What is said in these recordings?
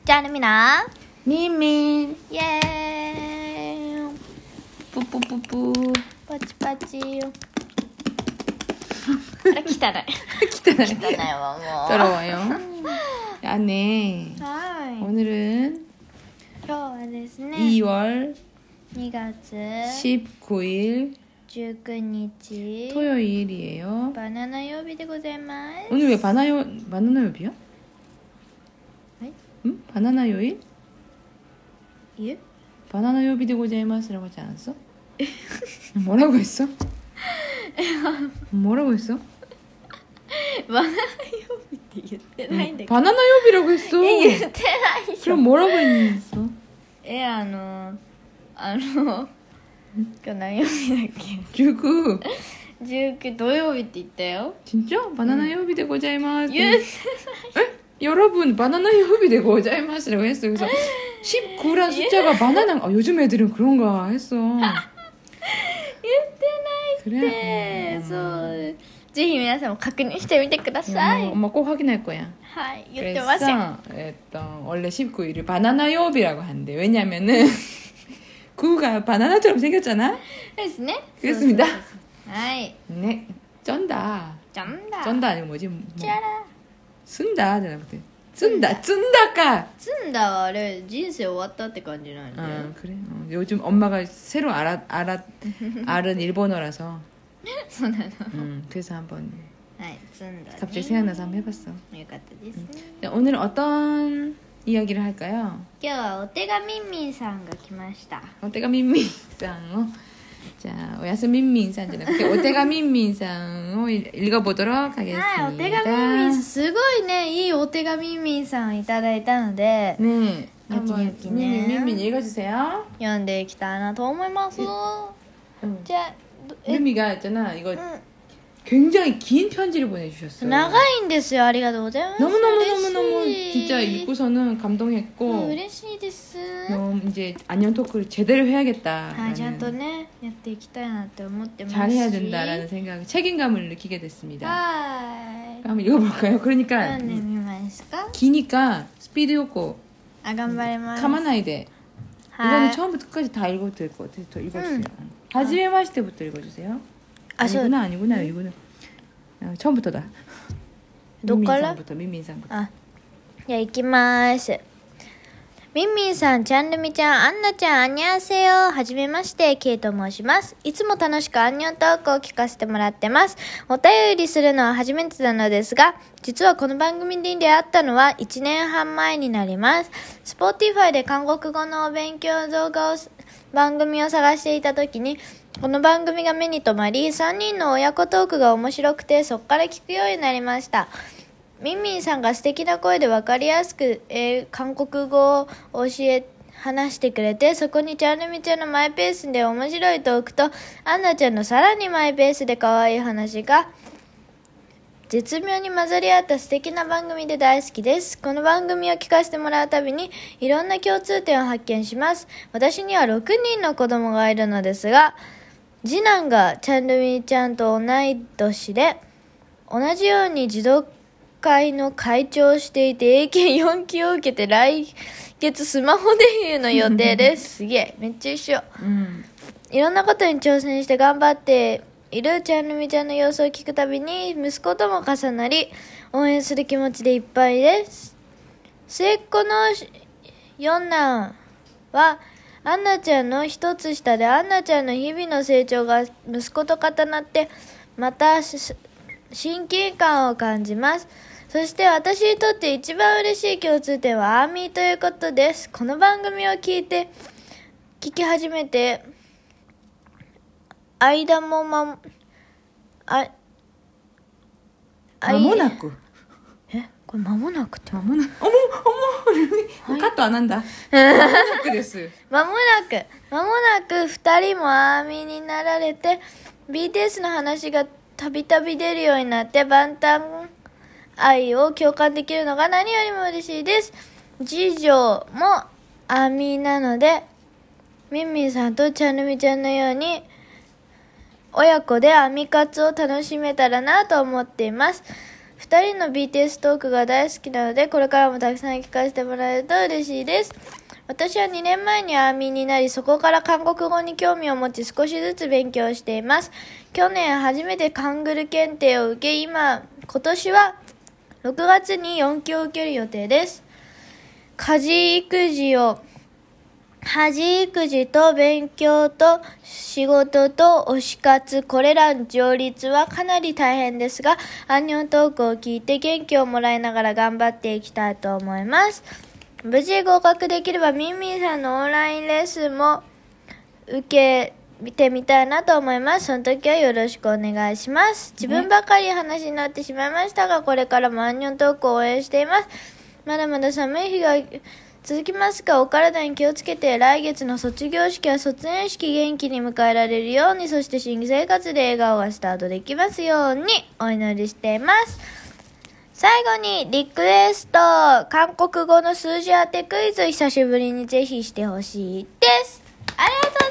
じゃあねみなみんみんイエーイぷぷぷぷパチパチあれ汚い汚いわもう 더러워요. 아, 네. はい 오늘은 今日はですね 2월 2月 19일 19日 토요일이에요. バナナ曜日でございます 오늘 왜 바나나 요비야? 네? 응? 바나나 요일? 예? 바나나 요비 되 고자이마스라고 하지 않았어? 뭐라고 했어? 뭐라고 했어? バナナ曜日って言ってないんだけど 바나나 요비라고 했어. 言ってないよ 그럼 뭐라고 했어? 今日何曜日だっけ 19. 19土曜日って言ったよ 진짜? 바나나 요비 되 고자이마스. 言って 여러분 바나나 요비 되 고자이마스라고 했어. 그래서 19란 숫자가 바나나. 요즘 애들은 그런가 했어. 言ってないって 그래? そうぜひ皆さんも確認してみてください 엄마 꼭 확인할 거야. はい言ってません 원래 19일을 바나나 요비라고 한대. 왜냐면은 구가 바나나처럼 생겼잖아. ですね 그렇습니다. そうそうそうはい 네, 쩐다. じゃんだ 쩐다 아니고 뭐지? 뭐, じゃら 쓴다じゃなくて 쓴다か. 積んだはあれ人生終わったって感じなんで 그래. 요즘 엄마가 새로 알은 일본어라서 そうなの 그래서 한번 はい積んだね 갑자기 생각나서 한번 해봤어. よかったですね 네, 오늘은 어떤 이야기를 할까요? 今日はお手紙みんみんさんが来ました 오테가 민민상. 자, 오야스 민민상じゃなくて 오테가 민민상を 읽어보도록 하겠습니다. はいお手紙みんみんさんすごいねいいお手紙みんみんさんいただいたので 네, 여기, 한번 여기 네. 민민 읽어주세요. 読んでいきたいなと思いますじゃあ 민미가 있잖아. 이거 うん 굉장히 긴 편지를 보내주셨어요. 長いんですよありがとうございます 너무너무너무너무 嬉しい 진짜 읽고서는 감동했고 嬉しいです 너무 이제 안녕 토크를 제대로 해야겠다. はいちゃんとねやっていきたいなって思ってますし 잘해야 된다라는 생각, 책임감을 느끼게 됐습니다. はい 한번 읽어볼까요? 그러니까 読んでみますか 기니까 스피드 요코 あ頑張ります 가마나이데 は 이거는 い 처음부터 끝까지 다 읽어도 될 것 같아요. 더 읽어주세요. 하지메마시테부터 읽어주세요. 아, 저- 아니구나. 이거는 처음부터다. 녹갈라? 민민상부터. あじゃあ行きますみんみんさん、ちゃんるみちゃん、あんなちゃん、あんにゃんせよ。はじめまして、ケイと申します。いつも楽しくアンニョントークを聞かせてもらってます。お便りするのは初めてなのですが、実はこの番組に出会ったのは1年半前になります。Spotify で韓国語のお勉強動画を、番組を探していた時に、この番組が目に留まり、3人の親子トークが面白くて、そこから聞くようになりました。みんみんさんが素敵な声で分かりやすく、韓国語を話してくれて、そこにちゃんるみちゃんのマイペースで面白いトークと、アンナちゃんのさらにマイペースで可愛い話が絶妙に混ざり合った素敵な番組で大好きです。この番組を聞かせてもらうたびにいろんな共通点を発見します。私には6人の子供がいるのですが、次男がちゃんるみちゃんと同い年で、同じように児童会の会長をしていて英検4級を受けて来月スマホデビューの予定ですすげえめっちゃ一緒いろんなことに挑戦して頑張っているちゃんるみちゃんの様子を聞くたびに息子とも重なり応援する気持ちでいっぱいです。末っ子の四男はアンナちゃんの一つ下でアンナちゃんの日々の成長が息子と重なってまた親近感を感じます。そして私にとって一番嬉しい共通点はアーミーということです。この番組を聞き始めて間も間もなくこれ間もなくって間もなくカットはなんだ間もなくです間もなく2人もアーミーになられて BTS の話がたびたび出るようになってバンタン愛を共感できるのが何よりも嬉しいです。次女もアーミーなのでみんみんさんとちゃんるみちゃんのように親子でアミ活を楽しめたらなと思っています。 2人の BTS トークが大好きなので、これからもたくさん聞かせてもらえると嬉しいです。私は2年前にアーミーになり、そこから韓国語に興味を持ち少しずつ勉強しています。去年初めてカングル検定を受け、今年は6月に4級を受ける予定です。家事と勉強と仕事と推し活、これらの両立はかなり大変ですが、アンニョントークを聞いて元気をもらいながら頑張っていきたいと思います。無事合格できればミンミンさんのオンラインレッスンも受けてみたいなと思います。その時はよろしくお願いします。自分ばかり話になってしまいましたが、これからもアンニョントークを応援しています。まだまだ寒い日が続きますが、お体に気をつけて、来月の卒業式や卒園式元気に迎えられるように、そして新生活で笑顔がスタートできますようにお祈りしています。最後にリクエスト、韓国語の数字当てクイズ、久しぶりにぜひしてほしいです。ありがと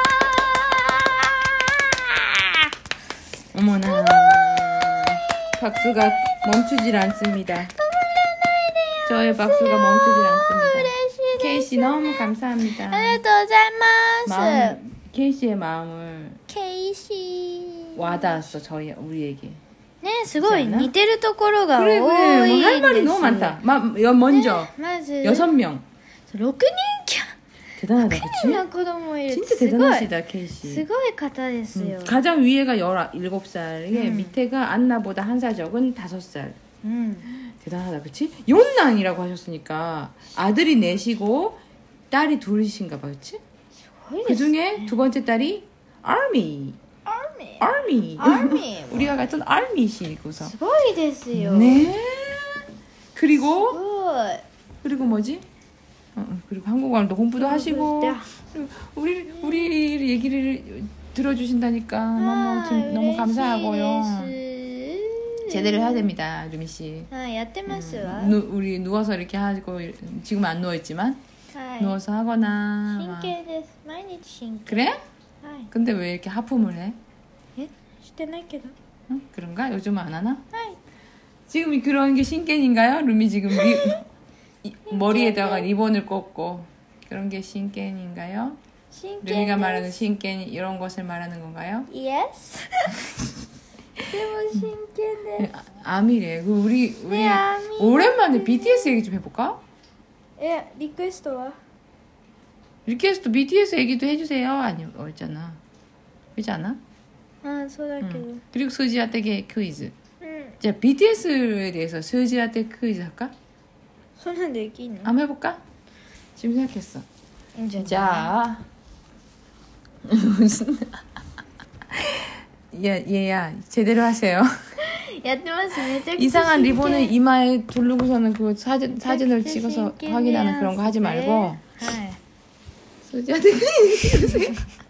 うございます。 어머나 박수가 멈추질 않습니다. 저의 박수가 멈추질 않습니다. 케이씨 너무 감사합니다. ありがとうございます。 케이씨의 마음을 ケイシー 와닿았어. 우리에게. ね、すごい似てるところが多 그래 いん 그래 です。 할 말이 너무 많다. 먼저 まず 6명 6人きゃ 대단하다 6 그치? 人の子供いる。 진짜 すごい 대단하시다 케이씨. すごい方ですよ。 가장 위에가 17살에 음. 밑에가 안나보다 한 살 적은 5살. うん。 대단하다 그치? 용난이라고 하셨으니까 아들이 넷이고 딸이 둘이신가 봐 그치? すごいで 그 すね。 중에 두 번째 딸이 army アーミー army 우리가 같은 army시고서 すごいですよ。 네 す 그리고 ごい。 그리고 뭐지? 그리고 한국어도 공부도 하시고 네. 우리 얘기를 들어주신다니까 너무 감사하고요. 제대로 해야 됩니다, 루미 씨. はい、やってますわ。 우리 누워서 이렇게 하고 지금 안 누워 있지만 はい。 누워서 하거나 真 막. 剣です。毎日真剣。 그래? はい。 근데 왜 이렇게 하품을 해? え、してないけど。 응? 그런가? 요즘은 안 하나? はい。 지금 그런 게 신겐인가요? 루미 지금 머리에다가 리본을 꽂고 그런 게 신겐인가요? 真剣 루미가 です。 말하는 신겐 이런 것을 말하는 건가요? Yes でも真剣です。 아미래. 우리 네, 아미. 오랜만에 BTS 얘기 좀 해볼까? え、リクエストは 리퀘스트 BTS 얘기도 해주세요. 아니 있잖아. 그렇지 않아? あ、そうだけど。 그리고 수지아떼게 퀴즈. うん。 자 BTS에 대해서 수지아떼 퀴즈 할까? そんなんできんの 한번 해볼까? 지금 생각했어. いいんじゃない 자 무슨 얘야 제대로 하세요. やってます。めちゃくちゃ 이상한 真剣 리본을 이마에 두르고서는 그 사진을 진짜 찍어서 신기해요. 확인하는 그런 거 하지 말고 はい。 수지한테 해주세요.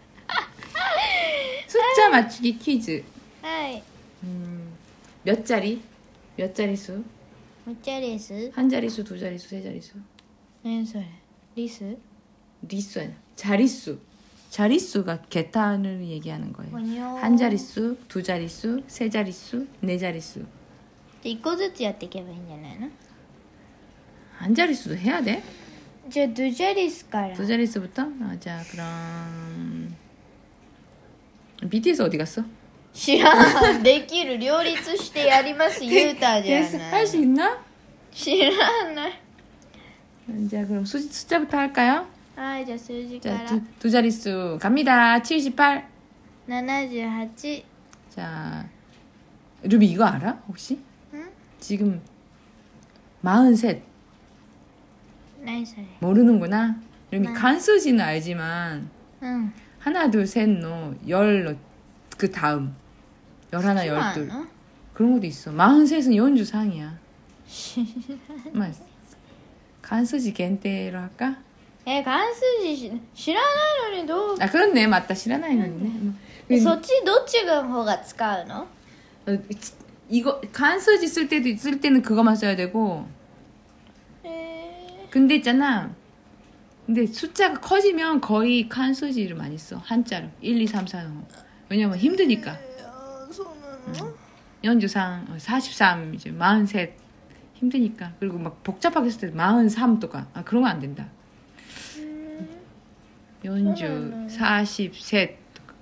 숫자 맞추기 퀴즈. はい。 몇 자리? 몇 자리수? むっちゃリス 한 자리수, 두 자리수, 세 자리수? 何それリス 리수 아니야. 자릿수. 자릿수가 개탄을 얘기하는 거예요. 아니요. 한 자릿수, 두 자릿수, 세 자릿수, 네 자릿수. じゃあ1個ずつやっていけばいいんじゃないの 한 자릿수도 해야 돼? じゃあドジャリスから 두 자릿수부터? 아, 자, 그럼 BTS 어디 갔어? 知らんできる両立してやります言うたじゃ 할 な 수 い 있나? 知らない 자, 그럼 숫자부터 할까요? はいじゃあ数字か 자, ら 두 자릿수 갑니다. 78. 78 자, 루비 이거 알아? 혹시? 응? 지금 43. 何それ 모르는구나. 루미 네. 간수지는 알지만 うん 하나, 둘, 셋, 노, 열, 그 다음. 11, 12. の 그런 것도 있어. 43은 연주상이야. 간수지 겐테로 할까? 関数字知らないのにどう 아, 그렇네. 맞다. 시라나이는네. そっちどっちの方が使うの 이거 간수지 쓸 때는 그거만 써야 되고. 근데 있잖아. 근데 숫자가 커지면 거의 간수지를 많이 써. 한자로. 1, 2, 3, 4. 왜냐면 힘드니까. そうなの 43, 43, 이제 43 힘드니까. 그리고 막 복잡하게 했을 때 43 とか 그런 거 안 된다. 40, 43 とか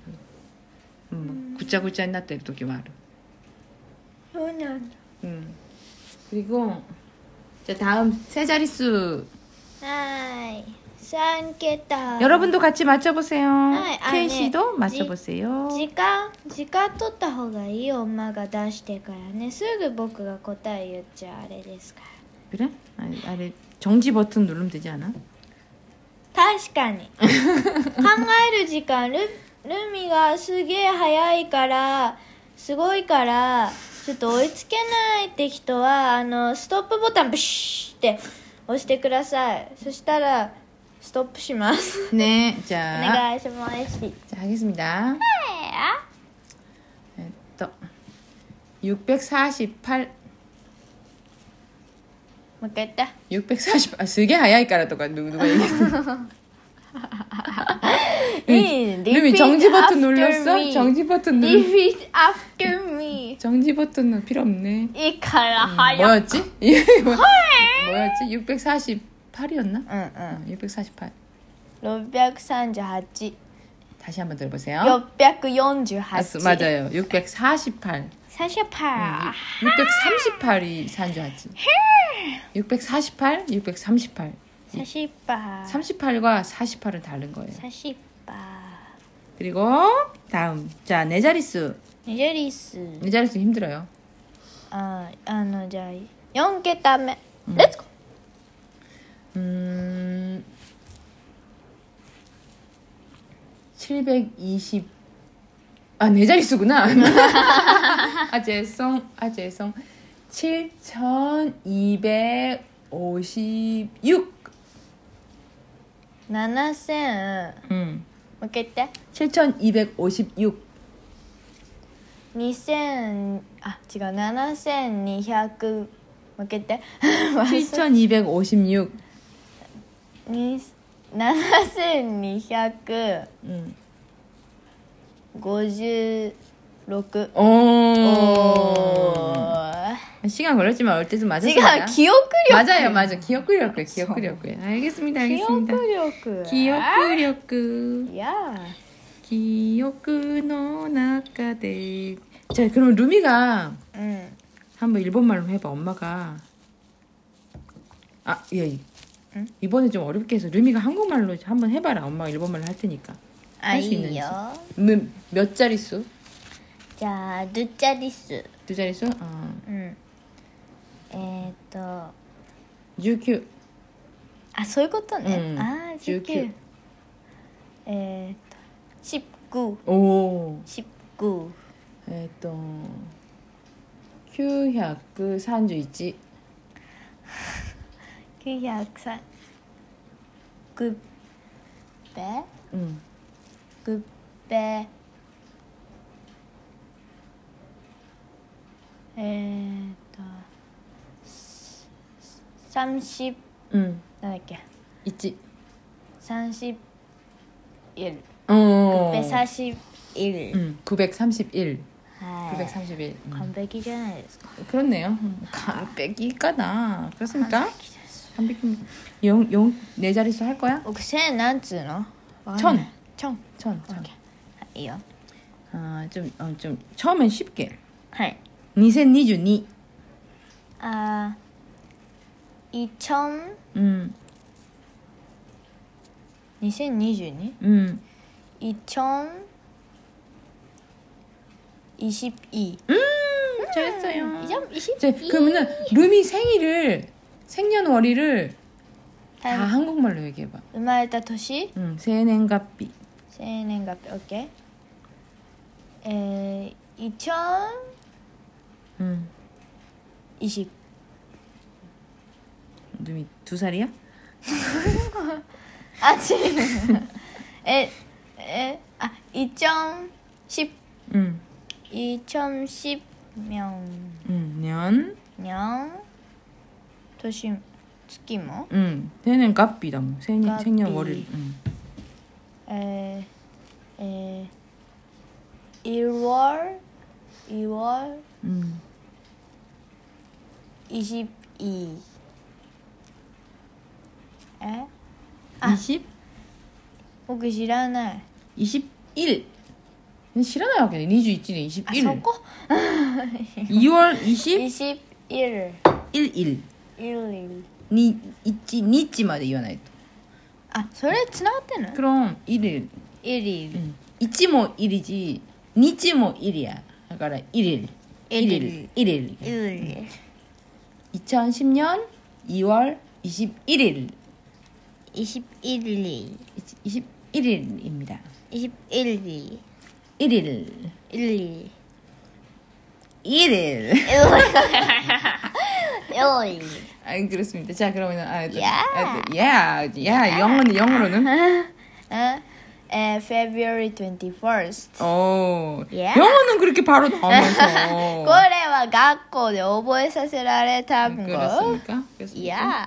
구짜구짜になってる時もある. そうなんだ 그리고 자 다음 세 자릿수 はい 3桁 여러분도 같이 맞춰보세요. 네, 케이 씨도 네. 맞춰보세요. 時間取った方がいいよ엄마が出してからねすぐ僕が答え言っちゃあれですから 그래? 아래 정지 버튼 누르면 되지 않아? 確かに考える時間ルミがすげえ早いからすごいからちょっと追いつけないって人はストップボタンブシーって押してくださいそしたらストップします 네, お 자, 願いします 자 하겠습니다. 648, もう一回言って 648, 아, 되게 早いからとか 누가 얘기했어? 루미 정지 버튼 눌렀어? 정지 버튼 눌렀어? Repeat after me 정지 버튼은 필요 없네. いいから早く 뭐였지? 뭐였지? 648이었나? 648. 638 다시 한번 들어보세요. 648 맞아요. 648. 48 638이 산주하지. 648, 638. 48 38과 48은 다른 거예요. 48 그리고 다음. 자, 네 자릿수. ねじりす 네 자릿수 힘들어요. じゃあ4桁目レッツゴー 720. 아, 네 자릿수구나. 아, 죄송. 7256. 7000もう一回言って 7256. 2000違う7200もう一回言って 7256. 7256 오. 시간 걸렸지만 어릴 때좀 맞았습니다. 기억력 맞아. 기억력. 알겠습니다. 기억력 기억력. 야 기억の中で. 자, 그럼 루미가 한번 일본말로 해봐. 엄마가 예. 응? 이번에 좀 어렵게 해서 루미가 한국말로 한번 해봐라. 엄마가 일본말로 할 테니까. 할 수 있는지. 몇 자릿수? 자, 2자릿수 2자릿수? 19. そういうことね。 19 19 오. 19 931. 903 9배 9배 30なんだっけ 1 31 931. 931 931. 931. 完璧じゃないですか 그렇네요. 완벽이까나. 그렇습니까? 완벽히. 네 자릿수 할 거야? 僕1000なんつうの 천. 1000 천. いいよ 좀 처음엔 쉽게. はい 2022. 2000 2022? 2022 잘했어요. 2022 그러면은 루미 생년월일을 다 한국말로 얘기해봐. 生まれた年 생년月. 生年月日 OK 2020 루미 2살이야? 2010 2010 년. 도시月も 생년月日だもん. 생년월일. 1월 22え 20? 僕知らない。 21. 知らないわけで21年21. あ、そこ 2월 20? 21 11. 1 1日まで言わないと。 あ、それつながってんの？ 그럼 1일. 1일 1も 1이지 日も 1이야. 그러니까 1일. 1일. 2010년 2월 21일. 21일 21일입니다. 21일 1일. 1일 1일. 1일 아, 그렇습니다. 자, 그러면은 Yeah. 영어로는 February 21st. Yeah. 영어는 그렇게 바로 나오면서. これは学校で覚えさせられたんご。 그렇습니까? Yeah.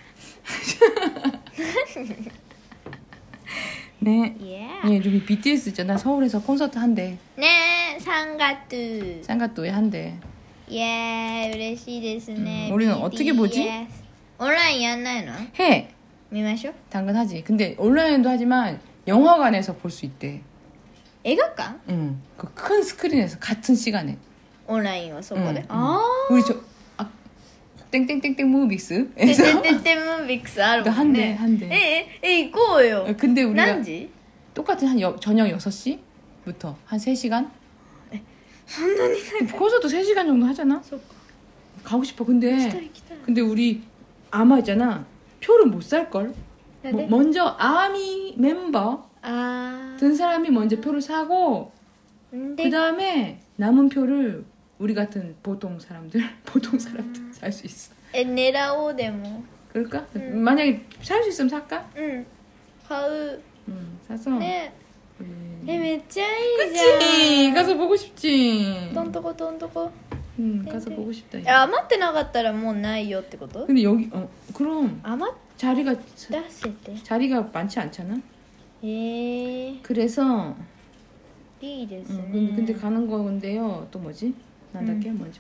네. Yeah. 예, 여기 BTS 있잖아. 서울에서 콘서트 한대. 네, 3月 쌍가또에 한대. 예, 嬉しいですね。 우리는 어떻게 보지? 온라인 やんないの? 해. 見ましょう。 당근하지. 근데 온라인도 하지만 영화관에서 볼 수 있대. 映画館? 응. 그 큰 스크린에서 같은 시간에. オンラインはそこで。 응, あ 우리 땡땡땡땡 무비스. あ。ててててムービックスあるもんね。 한대. 行こうよ。 근데 우리가 何時? 똑같은 저녁 6시부터 한 3시간? そんなに 콘서트 3시간 정도 하잖아. そうか。 가고 싶어. 行きた 근데 い行きたい。 근데 우리 아마 있잖아. 표를 못 살 걸. なんで? 먼저 아미 멤버 あ 든 사람이 먼저 표를 사고 ー。で 그 다음에 남은 표를 우리 같은 보통 사람들 살 수 있어. 狙おうでも。 그럴까? 만약에 살 수 있으면 살까? うん。買う。 사서 ね。 우리... めっちゃいいじゃん。 그치 가서 보고 싶지. どんとこどんとこ。 가서 보고 싶다. 余ってなかったらもうないよってこと? 근데 여기 그럼 余っ 자리가 出せて。 자리가 많지 않잖아. へえ。 그래서 いいですね。 근데 가는 건데요. 또 뭐지? 난다게 뭐지?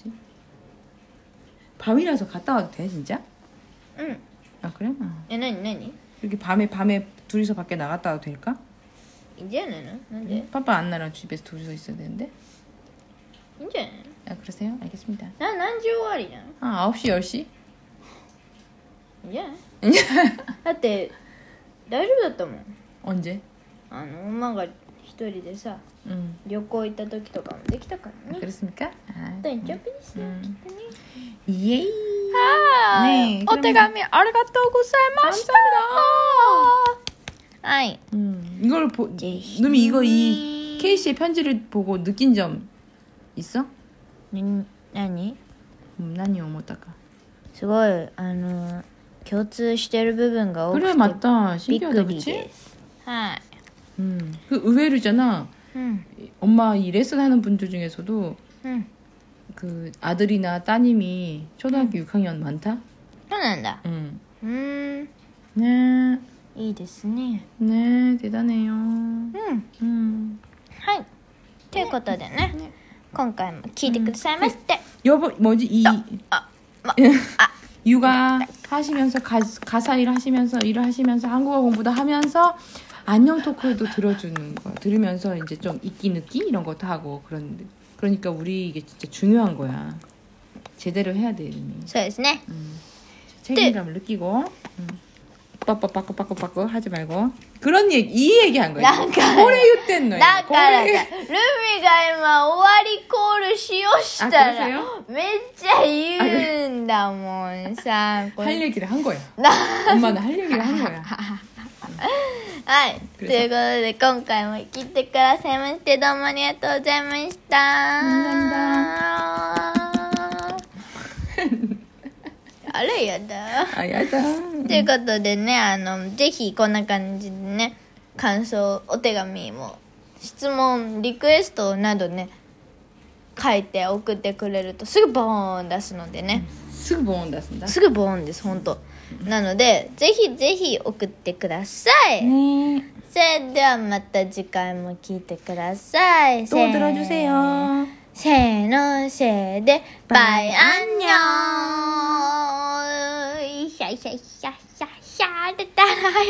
밤이라서 갔다 와도 돼 진짜? うん。 아 그래? え、なになに? 이렇게 밤에 둘이서 밖에 나갔다 와도 될까? いいんじゃないの? なんで? 파파 안나랑 집에서 둘이서 있어야 되는데. いいんじゃない 아 그러세요? 알겠습니다. の? 何時終わりなの? 아 9시 10시? いいんじゃないだって大丈夫だったもん。 언제? 馬が一人でさ、 旅行行った時とかもできたからね。 그렇습니까? 아, 大丈夫ですよ、きっとね。 예이. はーい。 네, お手紙ありがとうございました。はい。 이걸 누미 이거 이 케이씨의 편지를 보고 느낀 점 있어? 何? 난이 오모다가. すごい共通してる部分が多くて 그래 맞다. びっ 신기하다 くり 그치? です。はい。 그 의외로잖아. うん。 엄마 이 레슨 하는 분들 중에서도 うん。 그 아들이나 따님이 초등학교 6학년 많다. そうなんだ。 응. ね、 네, いいですね。 네, 대단해요. うん。はい。ということでね、今回も聞いてくださいまして。 여보 뭐지 이 육아 하시면서 가사 일을 하시면서 한국어 공부도 하면서 안녕 토크도 들어주는 거 들으면서 이제 좀 있기 느끼 이런 것도 하고 그러니까 우리 이게 진짜 중요한 거야. 제대로 해야 돼 이름이. そうですね。 책임감을 느끼고 빠빠빠빠빠빠빠 하지 말고 그런 이 얘기한 거야. 고래유 땐 너야. だからさ、ルミが今終わりコールしようしたら 그러세요? めっちゃ言うんだもんさ。これ 할 얘기를 한 거야. 엄마는 할 얘기를 한 거야. はい。ということで今回も聞いてくださいましてどうもありがとうございました。あれやだ。 아, 야다. ということでね、ぜひこんな感じでね、感想、お手紙も、質問、リクエストなどね、書いて送ってくれるとすぐボーン出すのでね、 쓰고 모은다쓴다. すぐボーンです、ほんと。なので、ぜひぜひ送ってください。 네. それではまた次回も聞いてください。 또 들어주세요. せーのせーでバイアンニョン。シャシャシャシャシャでたら